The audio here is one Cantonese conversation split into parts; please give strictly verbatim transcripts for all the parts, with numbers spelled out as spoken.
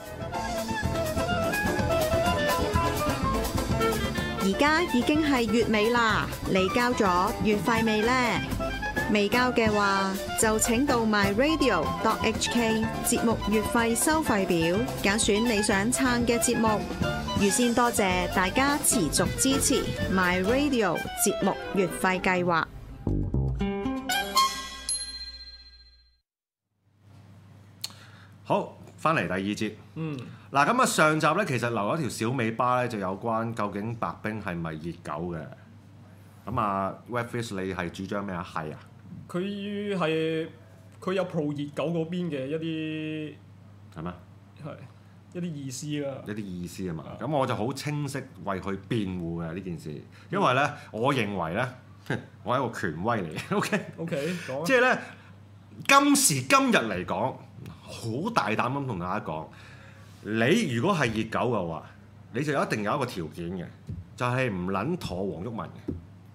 而家已經係月尾啦，你交咗月費未呢？未交嘅話，就請到 my radio dot h k 節目月費收費表，揀選你想撐嘅節目。預先多謝大家持續支持 my radio 節目月費計劃。 好，翻嚟第二節。 嗯。 嗱，咁啊上集咧，其實留咗條小尾巴咧，就有關究竟白兵係咪熱狗嘅？咁啊 Webfish 你係主張咩啊？係啊。 佢係佢有 pro 熱狗嗰邊嘅一啲係咩？ 係一啲意思啦。 一啲意思啊嘛。咁我就好清晰為佢辯護嘅呢件事，因為咧，嗯、我認為咧，我係一個權威嚟嘅。OK。OK。講。即係咧，今時今日嚟講，好大膽咁同大家講。你如果係熱狗嘅話，你就一定有一個條件嘅，就係唔撚妥黃毓民嘅。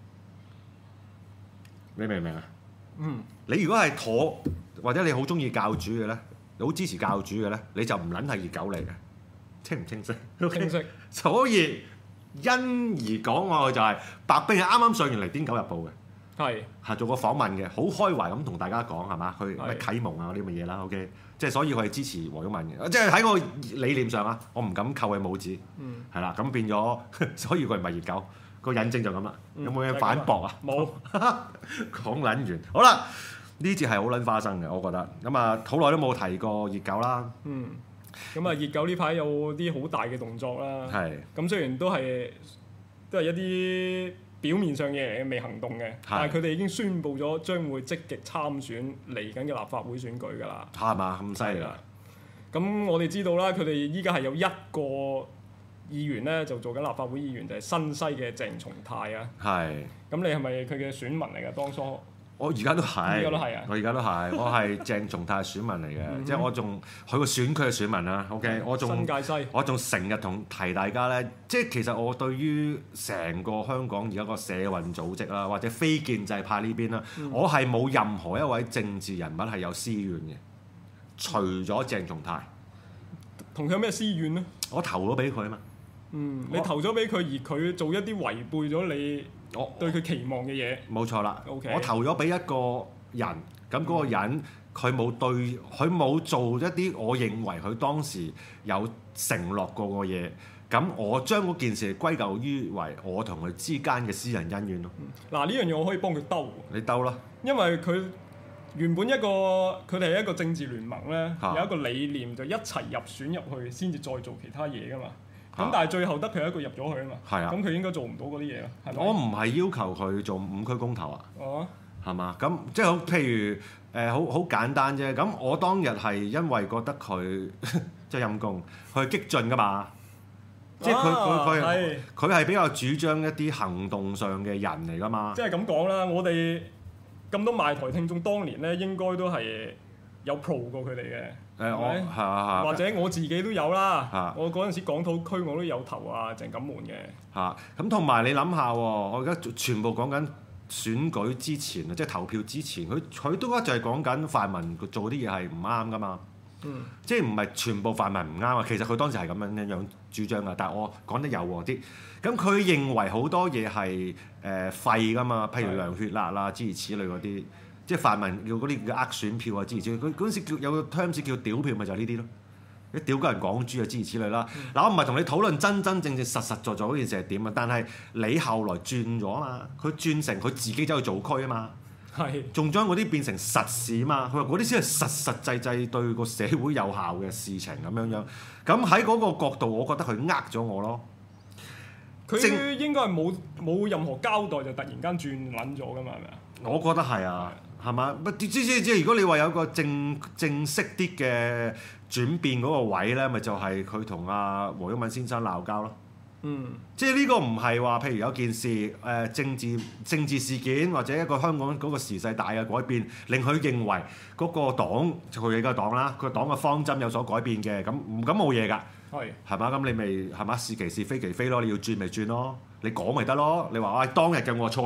你明唔明啊？嗯。你如果係妥，或者你好中意教主嘅咧，你好支持教主嘅咧，你就唔撚係熱狗嚟嘅。清唔清晰？ 清晰。 所以因而講我就係、是、白兵係啱啱上完嚟《癲狗日報》嘅。係。係做過訪問嘅，好開懷咁同大家講係嘛？去咩啟蒙啊嗰啲咁嘅嘢啦。OK。即係所以佢係支持黃毓民嘅，即係喺我理念上啊，我唔敢扣佢帽子，係啦、嗯，咁變咗，所以佢唔係熱狗，個引證就咁啦。嗯、有冇嘢反駁啊？冇，講撚完，好啦，呢節係好撚花生嘅，我覺得。咁啊，好耐都冇提過熱狗啦。嗯， 咁啊，熱狗呢排有啲好大嘅動作啦。係是。咁雖然都係都係一啲表面上嘅嘢未行動嘅，是但係佢哋已經宣布咗將會積極參選嚟緊嘅立法會選舉㗎啦。 係嘛？咁犀利啊！ 咁我哋知道啦，佢哋依家係有一個議員咧，就做緊立法會議員，就係、是、新西嘅鄭松泰啊。係是。咁你係咪佢嘅選民嚟㗎？當初？ 我而家都係， 而家都係啊！ 我而家都係，我係鄭松泰選民嚟嘅，嗯、哼即係我仲佢個選區嘅選民啦。OK，、嗯、我仲新界西，我仲成日同提大家咧，即係其實我對於成個香港而家個社運組織啦，或者非建制派呢邊啦，嗯、我係冇任何一位政治人物係有私怨嘅，除咗鄭松泰。 同佢有咩私怨咧？ 我投咗俾佢啊嘛。 嗯，你投咗俾佢，而佢做一啲違背咗你我對佢期望嘅嘢。冇錯啦。Okay. 我投咗俾一個人，咁嗰個人佢冇、嗯、對，佢冇做一啲我認為佢當時有承諾過嘅嘢，咁我將嗰件事歸咎於為我同佢之間嘅私人恩怨咯。 嗱、嗯，呢樣嘢我可以幫佢兜。 你兜啦。因為佢原本一個佢哋係一個政治聯盟咧，啊、有一個理念就一齊入選入去，先至再做其他嘢噶嘛。咁但係最後得佢一個入咗去啊嘛，咁佢、啊、應該做唔到嗰啲嘢咯，係咪？ 我唔係要求佢做五區公投啊，哦，係嘛？咁即係好，譬如誒好好簡單啫。咁我當日係因為覺得佢即係陰公，佢係激進噶嘛，即係佢佢佢佢係比較主張一啲行動上嘅人嚟噶嘛。 即係咁講啦，我哋咁多賣台聽眾，當年咧應該都係有 pro 過佢哋嘅。誒我係啊係，或者我自己都有啦。啊、我嗰陣時港島區我都有投啊鄭錦滿嘅。 嚇咁同埋你諗下喎，我而家全部講緊選舉之前啊，即係投票之前，佢佢都一就係講緊泛民做啲嘢係唔啱噶嘛。嗯。即係唔係全部泛民唔啱啊？其實佢當時係咁樣樣主張噶，但係我講得柔和啲。咁佢認為好多嘢係誒廢噶嘛，譬如涼血辣啦諸如此類嗰啲。即係泛民叫嗰啲叫呃選票啊，諸如此類。佢嗰陣時叫有個 terms 叫屌票，咪就係呢啲咯。你屌鳩人港豬啊，諸如此類啦。嗱、嗯，我唔係同你討論真真正正實實在在嗰件事係點啊，但係你後來轉咗啊嘛，佢轉成佢自己走去做區啊嘛，係仲將嗰啲變成實事啊嘛。佢話嗰啲先係實實際際對個社會有效嘅事情咁樣樣。咁喺嗰個角度，我覺得佢呃咗我咯。 佢應該係冇冇任何交代就突然間轉撚咗㗎嘛，係咪啊？ 我覺得係啊。係嘛？即即即如果你話有個正正式啲嘅轉變嗰個位咧，咪就係佢同阿黃毓民先生鬧交咯。嗯，即係呢個唔係話，譬如有件事誒、呃、政治政治事件或者一個香港嗰個時勢大嘅改變，令佢認為嗰個黨佢嘅黨啦，佢黨嘅方針有所改變嘅，咁咁冇嘢㗎。係係嘛？咁你咪係嘛？是其是非其非咯，你要轉咪轉咯，你講咪得咯。你話我、哎、當日嘅我錯啦，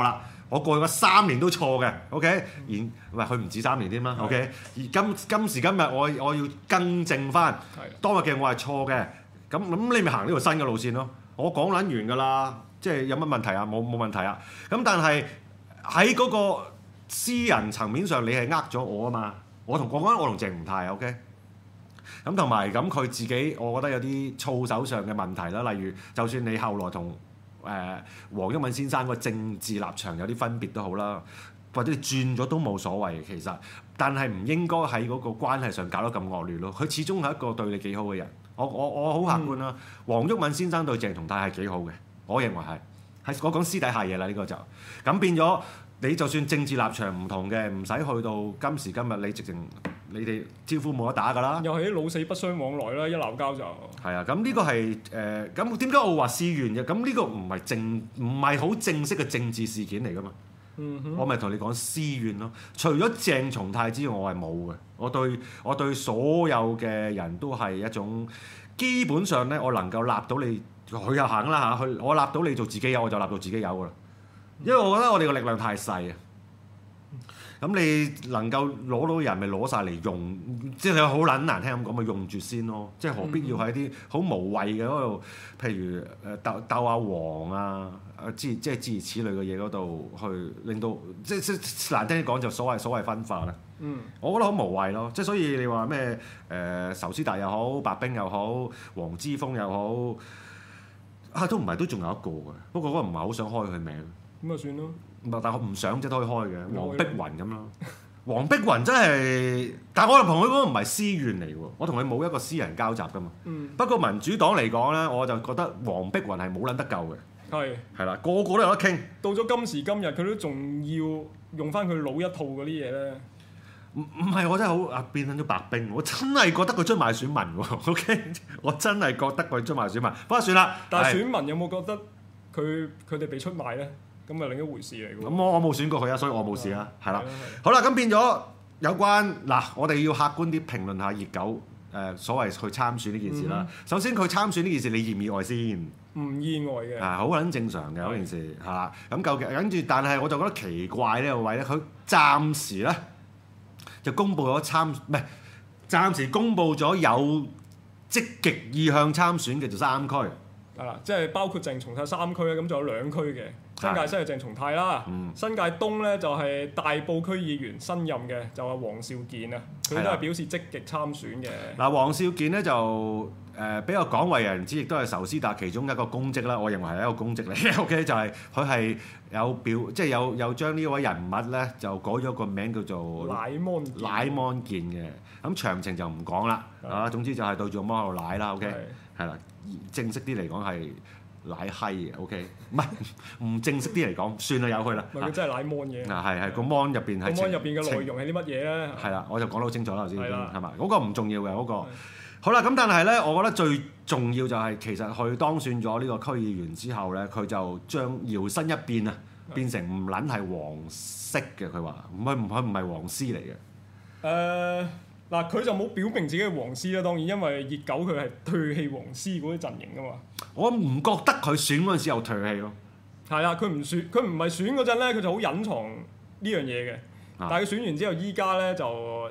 我過去嗰三年都錯嘅，OK？而唔係佢唔止三年添啦，OK？而今今時今日我我要更正翻，當日嘅我係錯嘅，咁咁你咪行呢條新嘅路線咯。我講撚完㗎啦，即係有乜問題啊？冇冇問題啊？咁但係喺嗰個私人層面上，你係呃咗我啊嘛？我同講緊我同鄭松泰 OK？咁同埋咁佢自己，我覺得有啲操守上嘅問題啦。例如，就算你後來同誒黃毓民先生個政治立場有啲分別都好啦，或者你轉咗都冇所謂其實，但係唔應該喺嗰個關係上搞得咁惡劣咯。佢始終係一個對你幾好嘅人，我我我好客觀啦。黃毓民先生對鄭松泰係幾好嘅，我認為係係我講私底下嘢啦，呢個就咁變咗。你就算政治立場唔同嘅，唔使去到今時今日，你直情你哋招呼冇得打㗎啦。 又係啲老死不相往來啦，一鬧交就係啊。咁呢個係誒咁點解我話私怨嘅？咁呢個唔係正唔係好正式嘅政治事件嚟㗎嘛。嗯、哼我咪同你講私怨咯。除咗鄭松泰之外，我係冇嘅。我對我對所有嘅人都係一種基本上咧，我能夠立到你，佢又行啦嚇，佢我立到你做自己友，我就立到自己友㗎啦。因為我覺得我哋個力量太細啊，咁你能夠攞到人咪攞晒嚟用，即係你好撚難聽咁講咪用住先咯，即係何必要喺啲好無謂嘅嗰度，譬如誒鬥鬥阿黃啊，之即係諸如此類嘅嘢嗰度去令到即即難聽啲講就所謂所謂分化啦。嗯，我覺得好無謂咯，即係所以你話咩誒仇斯達又好，白冰又好，黃之鋒又好，啊都唔係都仲有一個嘅，不過嗰個唔係好想開佢名。 咁就算咯， 但係我唔想即係都可以開嘅，黃碧雲咁咯。黃碧雲真係，但係我同佢嗰個唔係私怨嚟喎，我同佢冇一個私人交集㗎嘛。嗯、不過民主黨嚟講咧，我就覺得黃碧雲係冇撚得救嘅。係係啦，個個都有得傾。到咗今時今日，佢都仲要用翻佢老一套嗰啲嘢咧。唔唔係，我真係好啊變緊咗白冰，我真係覺得佢出賣選民喎。OK， 我真係覺得佢出賣選民。不過算啦。但係選民有冇覺得佢佢哋被出賣咧？咁係另一回事嚟㗎。咁我我冇選過佢啊，所以我冇事啊，係啦。好啦，咁變咗有關嗱，我哋要客觀啲評論下熱狗誒、呃、所謂去參選呢件事啦。嗯、首先佢參選呢件事，你意唔意外先？唔意外嘅。啊，好撚正常嘅嗰件事係啦。咁究竟跟住，但係我就覺得奇怪呢個位咧，佢暫時咧就公佈咗參唔係暫時公佈咗有積極意向參選嘅就三區。係啦，即係包括鄭松泰三區咧，咁仲有兩區嘅。新界西係鄭松泰啦，嗯、新界東咧就係大埔區議員新任嘅，就係黃少健啊，佢都係表示積極參選嘅。嗱，黃少健咧就誒、呃、比較廣為人知，亦都係仇斯達其中一個公職啦。我認為係一個公職嚟嘅。OK，就係佢係有表，即係有有將呢位人物咧就改咗個名叫做乃芒乃芒健嘅。咁詳情就唔講啦，啊的，總之就係對住個芒喺度奶啦。OK，係啦的，正式啲嚟講係。奶閪嘅 ，OK， 唔係唔正式啲嚟講，算啦，由佢啦。唔係佢真係奶 mon 嘅。嗱係係個 mon 入邊係。個 mon 入邊嘅內容係啲乜嘢咧？係啦，我就講得好清楚啦頭先，係嘛？嗰個唔重要嘅嗰個。好啦，咁但係咧，我覺得最重要就係其實佢當選咗呢個區議員之後咧，佢就將搖身一變啊，變成唔撚係黃絲嘅。佢話唔係唔係唔係黃絲嚟嘅。誒。嗱，佢就冇表明自己係黃絲啦，當然因為熱狗佢係唾棄黃絲嗰啲陣營噶嘛。我唔覺得佢選嗰陣時有唾棄咯。係啊，佢唔選，佢唔係選嗰陣咧，佢就好隱藏呢樣嘢嘅。啊、但係佢選完之後，依家咧就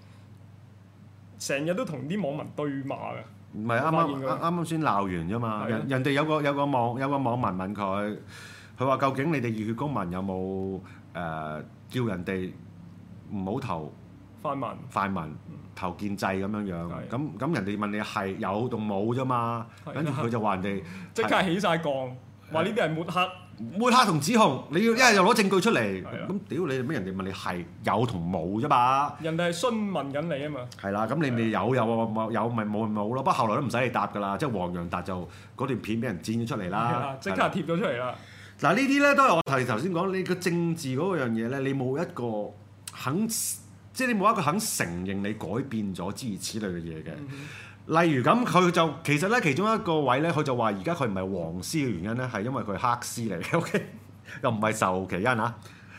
成日都同啲網民對罵嘅。唔係啱啱啱啱先鬧完啫嘛。人人哋有個有個網有個網民問佢，佢話究竟你哋熱血公民有冇誒、呃、叫人哋唔好投？泛民，泛民投建制咁樣樣，咁咁人哋問你係有定冇啫嘛？跟住佢就話人哋即刻起晒槓，話呢啲係抹黑，抹黑同指控，你要一係就攞證據出嚟，咁屌你咩？人哋問你係有同冇啫嘛？人哋係詢問緊你啊嘛。係啦，咁你咪有有冇有咪冇咪冇咯？不過後來都唔使你答㗎啦，即係黃洋達就嗰段片俾人剪咗出嚟啦，即刻貼咗出嚟啦。嗱呢啲咧都係我頭頭先講，你個政治嗰樣嘢咧，你冇一個肯。即係你冇一個肯承認你改變咗諸如此類嘅嘢嘅，嗯、哼例如咁佢就其實咧其中一個位咧，佢就話而家佢唔係黃絲嘅原因咧，係因為佢係黑絲嚟嘅，OK， 又唔係仇其因啊。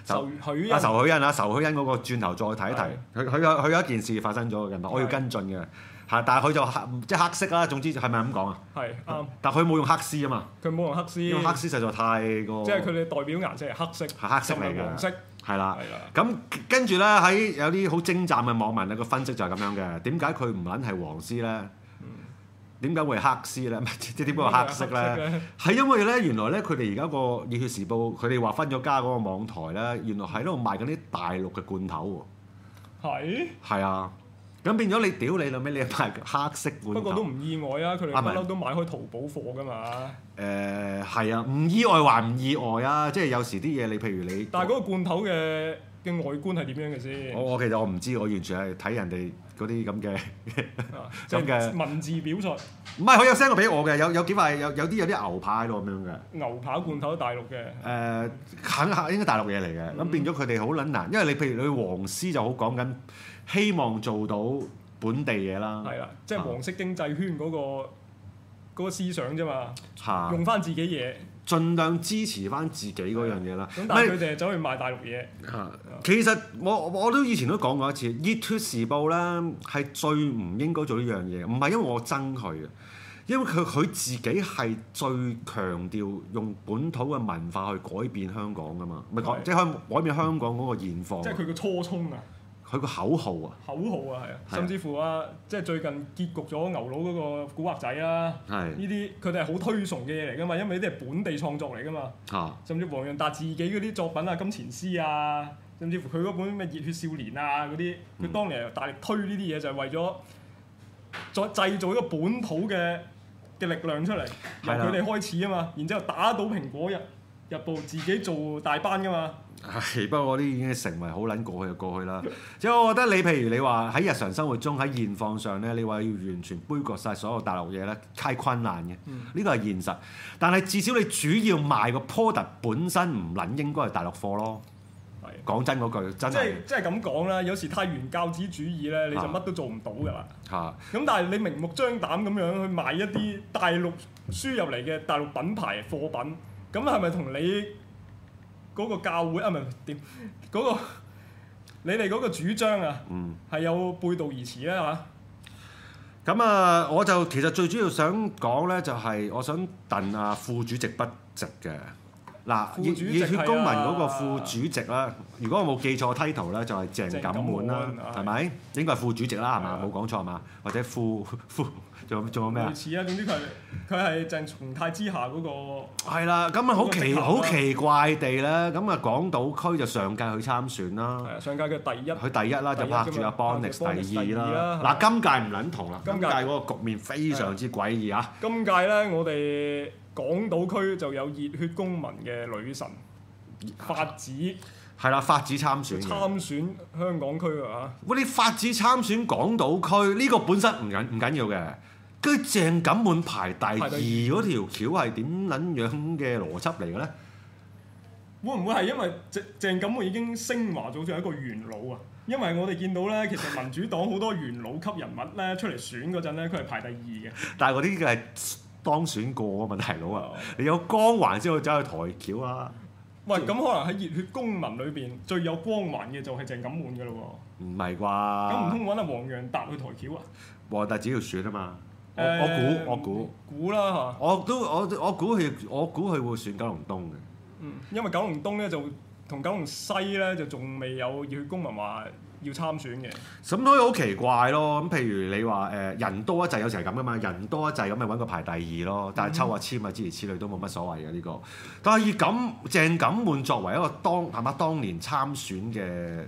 仇許啊仇許欣啊仇許欣嗰個轉頭再睇一睇，佢佢有佢有一件事發生咗嘅，我要跟進嘅。係，但係佢就黑即係黑色啦。總之係咪咁講啊？ 係啱。 但係佢冇用黑絲啊嘛。 佢冇用黑絲。 因為黑絲實在太過。 即係佢哋代表顏色係黑色。 係黑色嚟嘅。 黃色。 係啦。係啦。咁跟住咧喺有啲好精湛嘅網民咧個分析就係咁樣嘅。點解佢唔撚係黃絲咧？點解會係黑絲咧？即係點解係黑色咧？係因為咧原來咧佢哋而家個《熱血時報》佢哋話分咗家嗰個網台咧，原來喺度賣緊啲大陸嘅罐頭喎。係。係啊。咁變咗你屌你老味，你賣黑色罐頭。不過都唔意外啊！佢哋不嬲都買開淘寶貨㗎嘛。 誒係啊，唔意外還唔意外啊！即係有時啲嘢你譬如你。 但係嗰個罐頭嘅嘅外觀係點樣嘅先？ 我我其實我唔知，我完全係睇人哋嗰啲咁嘅咁嘅文字表述。 唔係佢有 send 過俾我嘅，有有幾塊有有啲有啲牛扒喺度咁樣嘅。 牛扒罐頭大陸嘅。誒、 呃，肯肯應該大陸嘢嚟嘅，咁、嗯、變咗佢哋好撚難，因為你譬如你黃絲就好講緊。希望做到本地嘢啦， 係啦，即係黃色經濟圈嗰、嗰個嗰、嗰個思想啫嘛， 啊、用翻自己嘢， 盡量支持翻自己嗰樣嘢啦。 咁但係佢哋走去賣大陸嘢。 啊、其實我我都以前都講過一次，《熱血時報》咧係最唔應該做呢樣嘢，唔係因為我憎佢嘅，因為佢佢自己係最強調用本土嘅文化去改變香港噶嘛，唔係改即係可以改變香港嗰個現況。 即係佢嘅初衷啊！ 佢個口號啊！ 口號啊，係啊，甚至乎啊，即係最近結局咗牛佬嗰個古惑仔啦，呢啲佢哋係好推崇嘅嘢嚟㗎嘛，因為呢啲係本地創作嚟㗎嘛，啊、甚至黃洋達自己嗰啲作品啊，金錢獅啊，甚至乎佢嗰本咩熱血少年啊嗰啲，佢、嗯、當年大力推呢啲嘢就係為咗再製造一個本土嘅嘅力量出嚟，由佢哋開始啊嘛，然之後打倒蘋果日日報，自己做大班㗎嘛。 係，不過嗰啲已經成為好撚過去就過去啦。即係我覺得你譬如你話喺日常生活中喺現況上咧，你話要完全杯葛晒所有大陸嘢咧，太困難嘅。呢個係現實。但係至少你主要賣個 product 本身唔撚應該係大陸貨咯。係的。講真嗰句，真係。即係即係咁講啦，有時太原教旨主義咧，你就乜都做唔到㗎啦。嚇、啊。咁但係你明目張膽咁樣去賣一啲大陸輸入嚟嘅大陸品牌貨品，咁係咪同你嗰個教會啊，唔係點嗰個你哋嗰個主張啊，係、嗯、有背道而馳咧嚇。 咁啊，我就其實最主要想講咧，就係我想戥啊副主席不值嘅。嗱，熱熱血公民嗰個副主席啦，如果我冇記錯 title 咧，就係鄭錦滿啦，係咪？應該係副主席啦，係嘛？冇講錯係嘛？或者副副仲有仲有咩啊？ 類似啊，總之佢佢係鄭松泰之下嗰個。係啦，咁啊好奇好奇怪地咧，咁啊港島區就上屆去參選啦。 係啊，上屆嘅第一。 佢第一啦，就拍住阿 Bonix 第二啦。嗱，今屆唔撚同啦，今屆嗰個局面非常之詭異啊！ 今屆咧，我哋港島區就有熱血公民嘅女神法子， 係啦，法子參選參選香港區啊！ 喂，你法子參選港島區呢個本身唔緊唔緊要嘅，跟住鄭錦滿排第二嗰條橋係點撚樣嘅邏輯嚟嘅咧？ 會唔會係因為鄭鄭錦滿已經升華咗做一個元老啊？因為我哋見到咧，其實民主黨好多元老級人物咧出嚟選嗰陣咧，佢係排第二嘅。但係嗰啲嘅係當選過啊嘛，大佬啊！你有光環先可以走去抬轎啊！ 喂，咁可能喺熱血公民裏邊最有光環嘅就係鄭錦滿㗎咯喎。 唔係啩？ 咁唔通揾阿黃洋達去抬轎啊？ 黃洋達只要選啊嘛！我、 欸、 我估我估估啦嚇！ 我都我我估佢我估佢會選九龍東嘅。 嗯，因為九龍東咧就同九龍西咧就仲未有熱血公民話要參選嘅， 咁所以好奇怪咯。咁譬如你話誒、呃、人多一滯，有時係咁噶嘛，人多一滯咁咪揾個排第二咯。但係抽下籤啊，諸如此類都冇乜所謂嘅呢、呢個。但係以咁鄭錦滿作為一個當係嘛當年參選嘅誒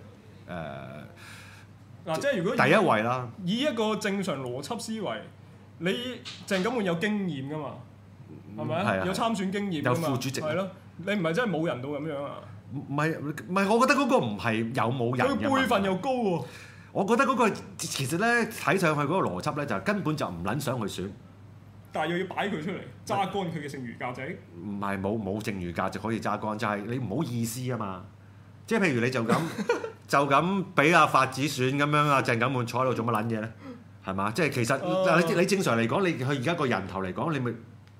嗱，即係如果第一位啦， 以一個正常邏輯思維，你鄭錦滿有經驗噶嘛，係咪、嗯、有參選經驗㗎嘛， 有副主席， 係咯，你唔係真係冇人到咁樣啊？ 唔係唔係，我覺得嗰個唔係有冇人嘅。 佢輩分又高喎、啊。 我覺得嗰個其實咧睇上去嗰個邏輯咧，就根本就唔撚想去選。 但係又要擺佢出嚟揸乾佢嘅剩餘價值。 唔係冇冇剩餘價值可以揸乾，就係、是、你唔好意思啊嘛。即係譬如你就咁就咁俾阿法子選咁樣，阿鄭錦滿坐喺度做乜撚嘢咧？係嘛？即係其實、uh, 你你正常嚟講，你佢而家個人頭嚟講，你咪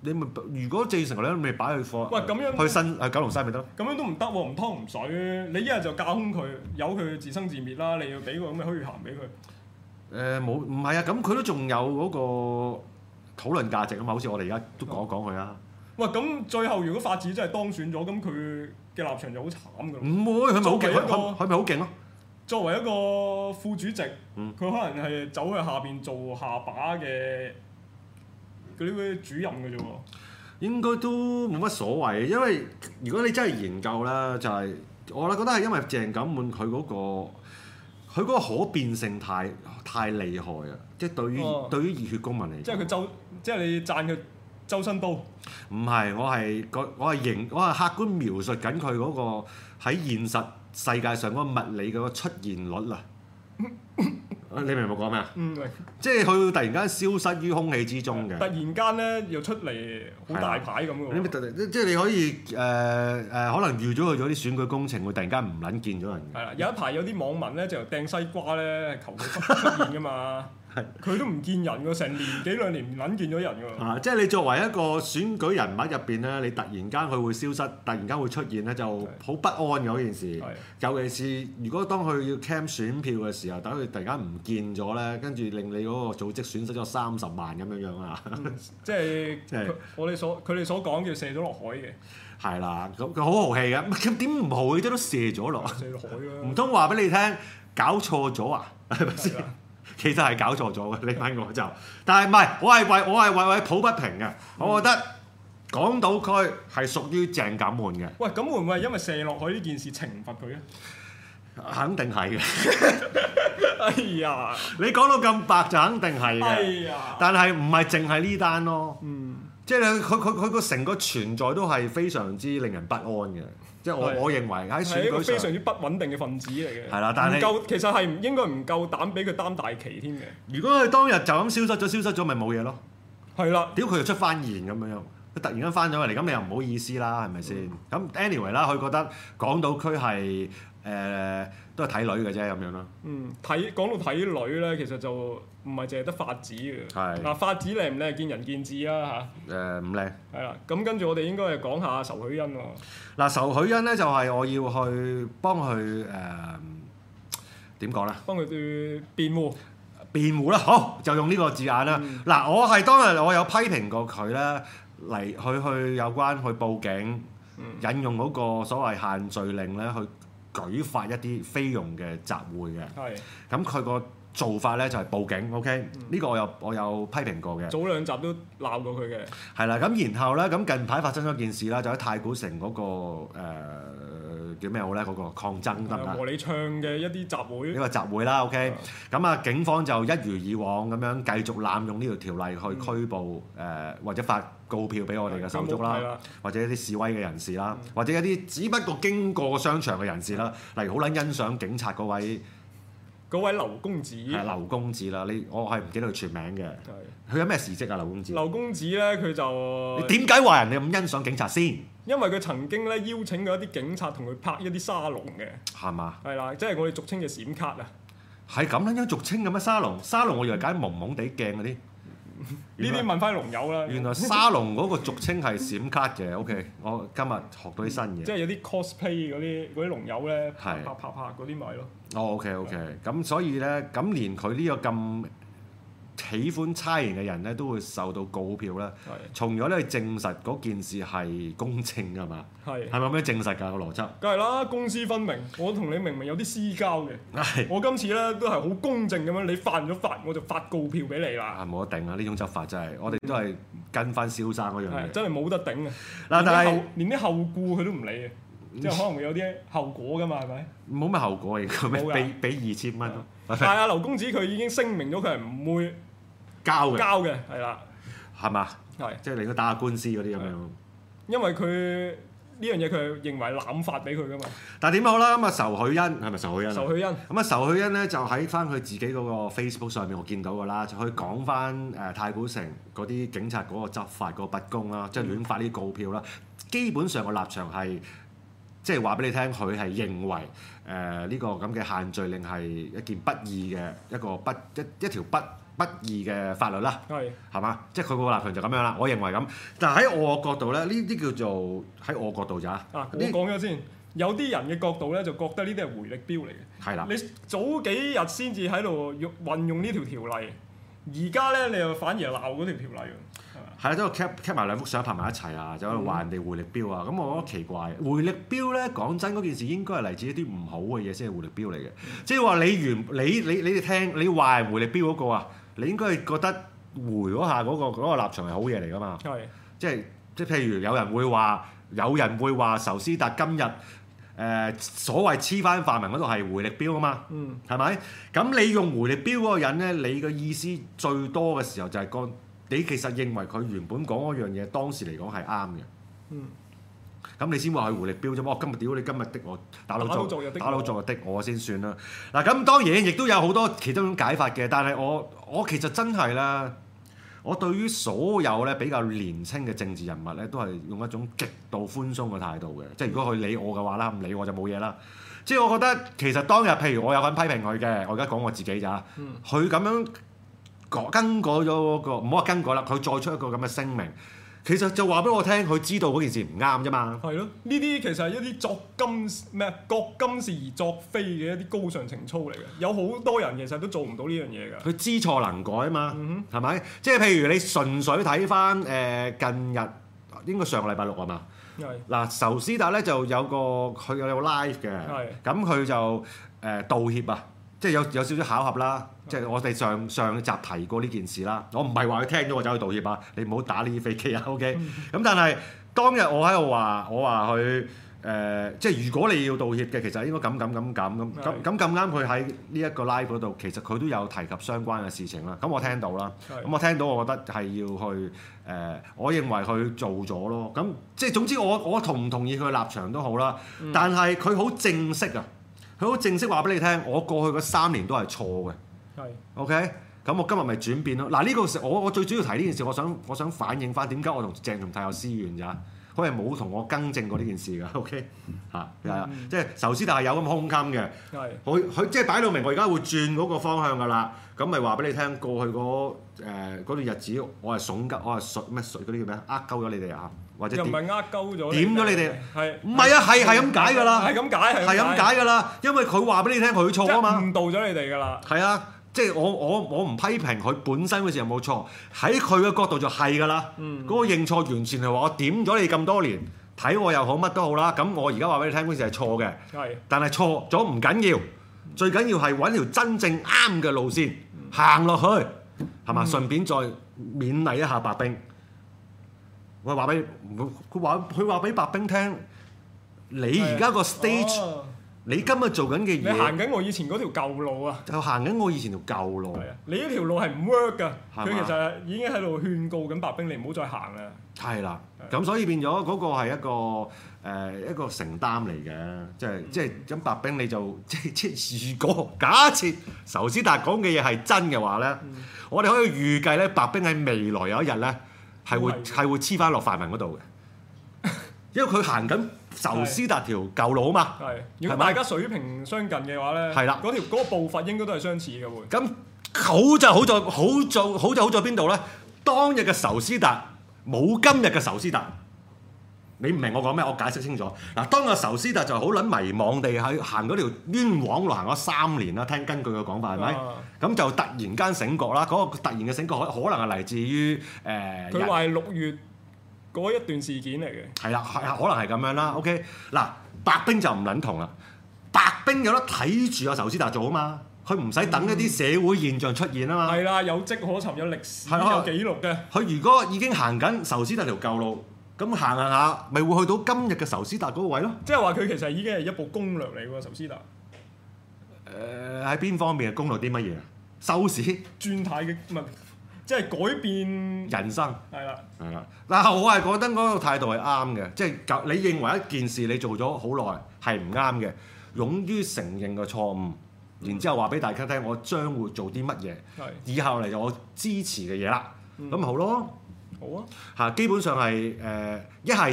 你咪如果鄭成你咪擺去貨， 喂咁樣去新去九龍西咪得咯？ 咁樣都唔得喎，唔湯唔水。你一日就架空佢，由佢自生自滅啦。你要俾個咁嘅虛涵俾佢。 誒冇唔係啊，咁佢都仲有嗰個討論價值啊嘛，好似我哋而家都講一講佢啊。 喂，咁最後如果法子真係當選咗，咁佢嘅立場就好慘㗎。 唔會，佢咪好勁？佢佢咪好勁咯？ 作為一個副主席，佢、 嗯、 可能係走去下邊做下把嘅嗰啲主任嘅啫喎。 應該都冇乜所謂，因為如果你真係研究啦，就係、是、我覺得係因為鄭錦滿佢嗰個佢嗰個可變性太太厲害啊！即係對於、哦、對於熱血公民嚟講， 即係佢周，即係你讚佢周身刀。唔係，我係我係形我係客觀描述緊佢嗰個喺現實世界上嗰個物理嗰個出現率啊！你明唔明我講咩啊？ 嗯，明。 即係佢突然間消失於空氣之中嘅。 突然間咧，又出嚟好大牌咁嘅喎。即係你可以誒誒、呃呃，可能預咗佢做啲選舉工程，會突然間唔撚見咗人。 係啦，有一排有啲網民咧就掟西瓜咧，求佢出現㗎嘛。佢都唔見人喎，成年幾兩年唔撚見咗人㗎喎。 啊，即係你作為一個選舉人物入邊咧，你突然間佢會消失，突然間會出現咧，就好不安嘅嗰件事。尤其是如果當佢要 cam 選票嘅時候，等佢突然間唔見咗咧，跟住令你嗰個組織損失咗三十萬咁樣樣啊！ 嗯、即係即係我哋所佢哋所講叫射咗落海嘅。 係啦，咁佢好豪氣嘅，咁點唔豪氣都都射咗落？ 射落海啦！ 唔通話俾你聽，搞錯咗啊？係咪先？其實係搞錯咗嘅，你問我就，但係唔係，我係為我係為為抱不平嘅。嗯、我覺得港島區係屬於鄭錦滿嘅。 喂，咁會唔會係因為射落海呢件事懲罰佢咧？ 肯定係嘅。 哎呀！ 你講到咁白就肯定係嘅。 哎呀！ 但係唔係淨係呢單咯。 嗯。 即係佢佢佢個成個存在都係非常之令人不安嘅。即係我我認為喺選舉上係一個非常之不穩定嘅分子嚟嘅。 係啦，但係唔夠，其實係唔應該唔夠膽俾佢擔大旗添嘅。 如果佢當日就咁消失咗，消失咗咪冇嘢咯。係啦。屌佢又出翻現咁樣樣，佢突然間翻咗嚟，咁你又唔好意思啦，係咪先？咁、嗯、anyway 啦，佢覺得港島區係誒、呃、都係睇女嘅啫咁樣咯。 嗯，睇講到睇女咧，其實就唔係淨係得法子嘅。係。嗱，法子靚唔靚見仁見智啊嚇。誒唔靚。係啦，咁跟住我哋應該係講下仇許欣喎。嗱， 仇許欣咧就係我要去幫佢誒點講咧？ 幫佢對辯護。 辯護啦，好就用呢個字眼啦。嗱、嗯，我係當日我有批評過佢咧，嚟去去有關去報警，嗯、引用嗰個所謂限聚令咧，去舉發一啲非用嘅集會嘅。係。咁佢個做法咧就係報警 ，OK？呢、嗯、個我有我有批評過嘅。 早兩集都鬧過佢嘅。係啦，咁然後咧，咁近排發生咗件事啦，就喺太古城嗰、那個、呃叫咩好咧？嗰、那個抗爭得唔得？ 和你唱嘅一啲集會。呢個集會啦 ，OK。咁啊，警方就一如以往咁樣繼續濫用呢條條例去拘捕誒、嗯呃、或者發告票俾我哋嘅手足啦，或者一啲示威嘅人士啦，嗯、或者一啲只不過經過商場嘅人士啦，例如好撚欣賞警察嗰位嗰位劉公子。 係劉公子啦，你我係唔記得佢全名嘅。佢有咩事蹟啊？劉公子。 劉公子咧，佢就你點解話人哋咁欣賞警察先？ 因為佢曾經咧邀請過一啲警察同佢拍一啲沙龍嘅， 係嘛？ 係啦，即係我哋俗稱嘅閃卡啊。 係咁樣樣俗稱嘅咩沙龍？沙龍我以為揀蒙蒙地鏡嗰啲。 呢啲問翻龍友啦。 原來沙龍嗰個俗稱係閃卡嘅，OK。我今日學到啲新嘢。 即係有啲 cosplay 嗰啲嗰啲龍友咧，拍拍拍拍嗰啲咪咯。 哦，OK OK。咁所以咧，咁連佢呢個咁喜歡差人嘅人咧，都會受到告票啦。係。從咗咧證實嗰件事係公正㗎嘛？係。係咪咁樣證實㗎個邏輯？ 梗係啦，公私分明。我同你明明有啲私交嘅。係。我今次咧都係好公正咁樣，你犯咗法我就發告票俾你啦。 係冇得頂啊！呢種執法真係，我哋都係跟翻蕭生嗰樣嘢。 真係冇得頂啊！ 嗱，但係連啲後顧佢都唔理嘅，即係可能會有啲後果㗎嘛？係咪？ 冇咩後果嘅，咩俾俾二千蚊？ 但係阿劉公子佢已經聲明咗，佢係唔會交嘅， 交嘅係啦， 係嘛？係，即係你應該打下官司嗰啲咁樣。 因為佢呢樣嘢佢係認為濫發俾佢噶嘛。 但係點好啦？咁啊，仇許欣係咪仇許欣？ 仇許欣咁啊，仇許欣咧就喺翻佢自己嗰個 Facebook 上面，我見到㗎啦，就去講翻誒太古城嗰啲警察嗰個執法嗰個不公啦，即係亂發啲告票啦。基本上個立場係即係話俾你聽，佢係認為誒呢、呃這個咁嘅限聚令係一件不義嘅一個不一一條不不義嘅法律啦，係係嘛？即係佢個立場就咁樣啦。我認為咁，但係喺我角度咧，呢啲叫做喺我角度咋？啊， 我講咗先。有啲人嘅角度咧，就覺得呢啲係回力標嚟嘅。係啦，你早幾日先至喺度用運用呢條條例，而家咧你又反而鬧嗰條條例喎。係啊， 都 cap cap 埋兩幅相拍埋一齊啊，就喺度話人哋回力標啊。咁、嗯、我覺得奇怪，回力標咧講真嗰件事應該係嚟自一啲唔好嘅嘢先係回力標嚟嘅。即係話你原你你你哋聽你話係回力標嗰個啊，你應該係覺得回嗰下嗰、嗰個嗰個立場係好嘢嚟㗎嘛。係，即係即係譬如有人會話，有人會話仇斯達今日。誒、呃、所謂黐翻泛民嗰度係回力標啊嘛，係咪、嗯？咁你用回力標嗰個人咧，你嘅意思最多嘅時候就係個你其實認為佢原本講嗰樣嘢當時嚟講係啱嘅，咁、嗯、你先話佢回力標啫嘛。我今日屌你今日的我打老作打老作的我先算啦。嗱咁當然亦都有好多其他種解法嘅，但係我我其實真係啦。我對於所有咧比較年輕嘅政治人物咧，都係用一種極度寬鬆嘅態度嘅。即係如果佢理我嘅話啦，唔理我就冇嘢啦。即係我覺得其實當日譬如我有份批評佢嘅，我而家講我自己咋。佢咁、嗯、樣改更改咗嗰、嗰個，唔好話更改啦，佢再出一個咁嘅聲明。其實就話俾我聽，佢知道嗰件事唔啱啫嘛。係咯，呢啲其實係一啲作今咩覺今是而作非嘅一啲高尚情操嚟嘅。有好多人其實都做唔到呢樣嘢㗎。佢知錯能改啊嘛，係咪、嗯哼？即係譬如你純粹睇翻誒近日應該上個禮拜六啊嘛。係嗱是，仇斯達咧就有個佢有個 live 嘅，咁佢是就誒、呃、道歉啊。即係有有少少巧合啦，即係我哋上上集提過呢件事啦。我唔係話佢聽咗我走去道歉啊，你唔好打呢啲飛機啊 ，OK？咁但係當日我喺度話，我話佢誒，即係如果你要道歉嘅，其實應該咁咁咁咁咁咁咁咁啱佢喺呢一個 live 嗰度，其實佢都有提及相關嘅事情啦。咁我聽到啦，咁我聽到，我覺得係要去誒、呃，我認為佢做咗咯。咁即係總之我我同唔同意佢嘅立場都好啦，但係佢好正式啊。佢好正式話俾你聽，我過去嗰三年都係錯嘅。係是，OK，咁我今日咪轉變咯。嗱呢個時我我最主要提呢件事，我想我想反映翻點解我同鄭松泰有私怨咋？佢係冇同我更正過呢件事㗎。OK，嚇係啊，即係仇斯達係有咁胸襟嘅。係是，佢佢即係擺到明，我而家會轉嗰個方向㗎啦。咁咪話俾你聽，過去嗰誒嗰段日子，我係慫鳩，我係水咩水嗰啲叫咩？呃鳩咗你哋啊！或者又唔係呃鳩咗？ 點咗你哋？ 係唔係啊？係係咁解㗎啦。係咁解係。 係咁解㗎啦，因為佢話俾你聽佢錯啊嘛。 誤導咗你哋㗎啦。係啊，即係我我我唔批評佢本身嗰時有冇錯，喺佢嘅角度就係㗎啦。嗯。嗰個認錯完全係話我點咗你咁多年，睇我又好乜都好啦。咁我而家話俾你聽嗰時係錯嘅。係。但係錯咗唔緊要，最緊要係揾條真正啱嘅路線行落去，係嘛？順便再勉勵一下白冰。我話俾佢話，佢話俾白冰聽，你而家個 stage，、哦、你今日做緊嘅嘢， 你行緊我以前嗰條舊路啊， 就行緊我以前條舊路。 係啊，你呢條路係唔 work 㗎，佢吧其實已經喺度勸告緊白冰，你唔好再行啦。係啦，咁所以變咗嗰個係一個誒、呃、一個承擔嚟嘅，即係即係咁白冰你就即即如果假設仇斯達講嘅嘢係真嘅話咧，嗯、我哋可以預計咧白冰喺未來有一日咧。係會係會黐翻落泛民嗰度嘅，因為佢行緊仇斯達條舊路啊嘛。係，如果大家水平相近嘅話咧，係啦，嗰條嗰個步伐應該都係相似嘅會。咁好就好在好在好就好在邊度咧？當日嘅仇斯達冇今日嘅仇斯達。你唔明我講咩？我解釋清楚。嗱，當個仇斯達就好撚迷惘地喺行嗰條冤枉路行咗三年啦。聽根據嘅講法係咪？咁、啊、就突然間醒覺啦。嗰、那個突然嘅醒覺可可能係嚟自於誒。佢話係六月嗰一段事件嚟嘅。係啦，係啊，可能係咁樣啦。OK，嗱，白冰就唔撚同啦。白冰有得睇住阿仇斯達做啊嘛，佢唔使等一啲社會現象出現啊嘛。係啦、嗯，有跡可尋，有歷史，的有記錄嘅。佢如果已經行緊仇斯達條舊路。咁行下下，咪會去到今日嘅仇斯達嗰個位咯。即係話佢其實已經係一部攻略嚟喎，仇斯達。誒喺邊方面係攻略啲乜嘢啊？收視、轉態嘅唔係，即係改變人生。係啦，係啦。但係我係覺得嗰個態度係啱嘅，即係你認為一件事你做咗好耐係唔啱嘅，勇於承認個錯誤，然之後話俾大家聽，我將會做啲乜嘢，係以後嚟就我支持嘅嘢啦，咁咪好咯。好啊，嚇，基本上係誒一係就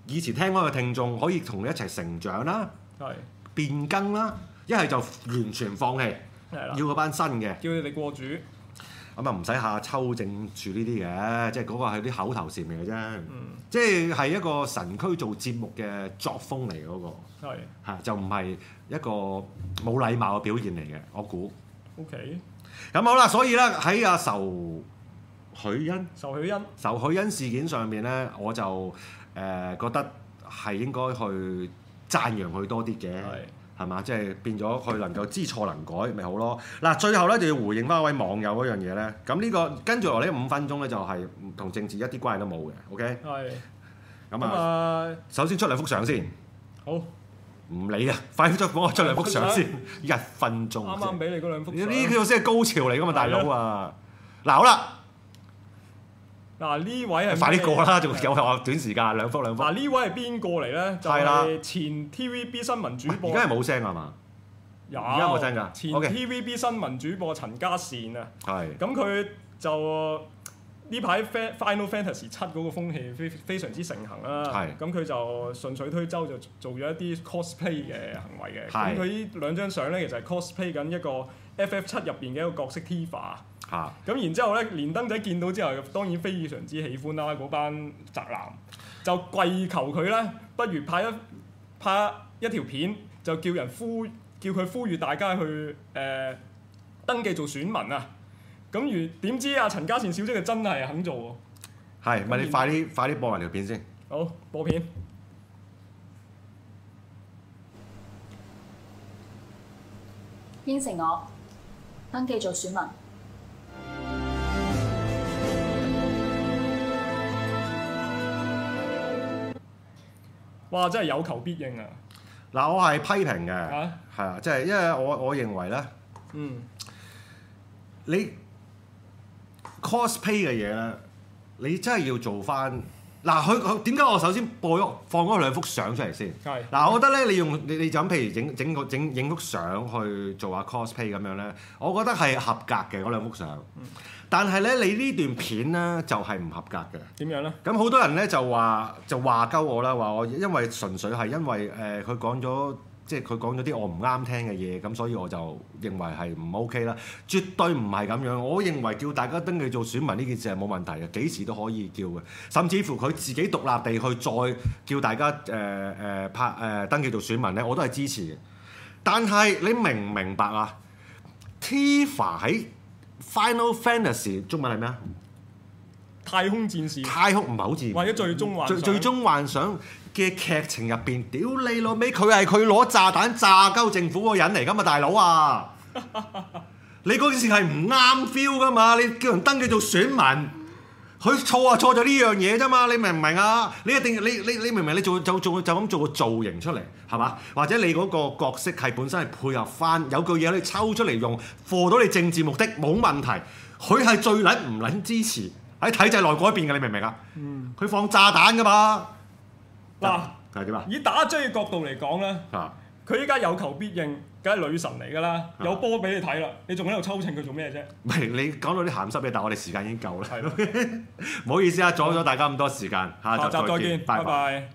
以前聽開嘅聽眾可以同你一齊成長啦， 係變更啦，一係就完全放棄，要嗰班新嘅， 叫你哋過主。 咁啊唔使下抽正住呢啲嘅，即係嗰個係啲口頭禪嚟嘅啫， 嗯、即係係一個神區做節目嘅作風嚟嘅嗰個，係係就唔係一個冇禮貌嘅表現嚟嘅，我估。 OK。 咁好啦，所以咧喺阿仇許欣、 仇許欣、 仇許欣事件上面咧，我就誒、呃、覺得係應該去讚揚佢多啲嘅。係嘛？即係變咗佢能夠知錯能改，咪好咯。嗱，最後咧就要回應翻一位網友嗰樣嘢咧。咁呢、呢個跟住落嚟呢五分鐘咧就係同政治一啲關係都冇嘅。OK。係。咁啊，首先出兩幅相先。好。唔理啊！快啲幫我出兩幅相先。一分鐘。啱啱俾你嗰兩幅相。呢個先係高潮嚟㗎嘛，大佬啊！嗱，好啦。嗱，呢位係快啲過啦，仲有話短時間兩幅兩幅。嗱，呢位係邊個嚟咧？就係前 T V B 新聞主播。而家係冇聲係嘛？有。而家冇聲㗎。前 T V B 新聞主播陳嘉善啊。係。咁佢就呢排 Final Fantasy 七嗰個風氣非非常之盛行啦。係。咁佢就順水推舟就做咗一啲 cosplay 嘅行為嘅。係。咁佢呢兩張相咧，其實係 cosplay 緊一個 F F 七入邊嘅一個角色 Tifa。嚇！咁、啊、然之後咧，連登仔見到之後，當然非常之喜歡啦。嗰班宅男就跪求佢咧，不如拍一拍一條片，就叫人呼叫佢呼籲大家去誒、呃、登記做選民啊！咁如點知阿陳嘉善小姐就真係肯做喎。係，咪你快啲快啲播埋條片先。好，播片。 應承我登記做選民。 哇！真係有求必應啊！ 嗱，我係批評嘅，係啊，即係因為我我認為咧，嗯，你 cosplay 嘅嘢咧，你真係要做翻嗱。佢佢點解我首先播咗放嗰兩幅相出嚟先？係嗱，我覺得咧，你用你你就咁，譬如整整個整影幅相去做下 cosplay 咁樣咧，我覺得係合格嘅嗰兩幅相。嗯但係咧，你呢段片咧就係、是、唔合格嘅。點樣咧？咁好多人咧就話就話鳩我啦，話我因為純粹係因為誒佢講咗，即係佢講咗啲我唔啱聽嘅嘢，咁所以我就認為係唔 OK 啦。絕對唔係咁樣。我認為叫大家登記做選民呢件事係冇問題嘅，幾時都可以叫嘅。甚至乎佢自己獨立地去再叫大家誒誒、呃、拍誒、呃、登記做選民咧，我都係支持嘅。但係你明唔明白啊 ？Tifa 喺Final Fantasy 中文係咩啊？太空戰士。太空唔係好似。或者最終幻想。最最終幻想嘅劇情入邊，屌你老味，佢係佢攞炸彈炸鳩政府嗰個人嚟㗎嘛，大佬啊！你嗰件事係唔啱 feel 㗎嘛？你叫人登記做選民，佢錯啊錯咗呢樣嘢啫嘛？你明唔明啊？你一定你你你明唔明？你做就做就咁做個造型出嚟係嘛？或者你嗰個角色係本身係配合翻有句嘢你抽出嚟用，貨到你政治目的冇問題。佢係最撚唔撚支持喺體制內改變嘅，你明唔明啊？佢、嗯、放炸彈㗎嘛？嗱，係點啊？以打追嘅角度嚟講咧，佢依家有求必應，梗係女神嚟㗎啦，有波俾你睇啦，你仲喺度抽秤佢做咩啫？唔係你講到啲鹹濕嘢，但係我哋時間已經夠啦。係咯，唔好意思啊，阻咗大家咁多時間，下集再見，拜拜。